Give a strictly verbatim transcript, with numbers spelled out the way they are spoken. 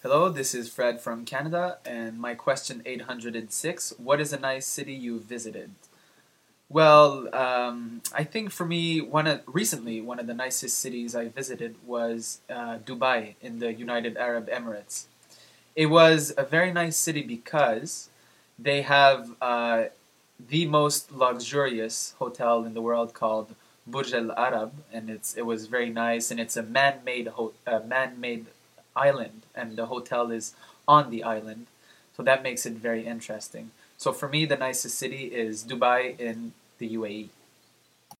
Hello, this is Fred from Canada, and my question eight hundred six, what is a nice city you visited? Well, um, I think for me, one of, recently, one of the nicest cities I visited was uh, Dubai in the United Arab Emirates. It was a very nice city because they have uh, the most luxurious hotel in the world called Burj Al Arab, and it's it was very nice, and it's a man-made ho- uh, man-made island, and the hotel is on the island, so that makes it very interesting. So for me, the nicest city is Dubai in the U A E.